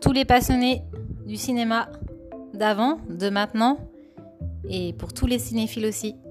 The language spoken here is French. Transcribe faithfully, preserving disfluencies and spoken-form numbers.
tous les passionnés du cinéma d'avant, de maintenant, et pour tous les cinéphiles aussi.